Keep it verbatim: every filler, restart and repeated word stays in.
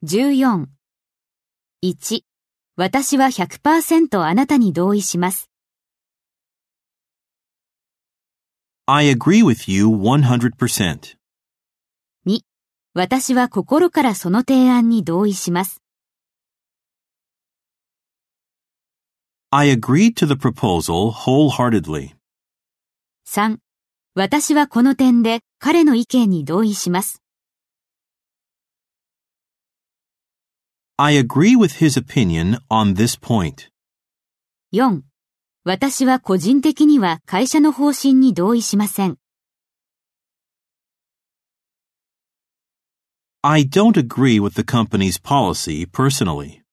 じゅうよん。いち、私は ひゃくパーセント あなたに同意します。 I agree with you one hundred percent. に、私は心からその提案に同意します。 I agree to the proposal wholeheartedly. さん、私はこの点で彼の意見に同意します。 I agree with his opinion on this point. よん、私は個人的には会社の方針に同意しません。 I don't agree with the company's policy personally.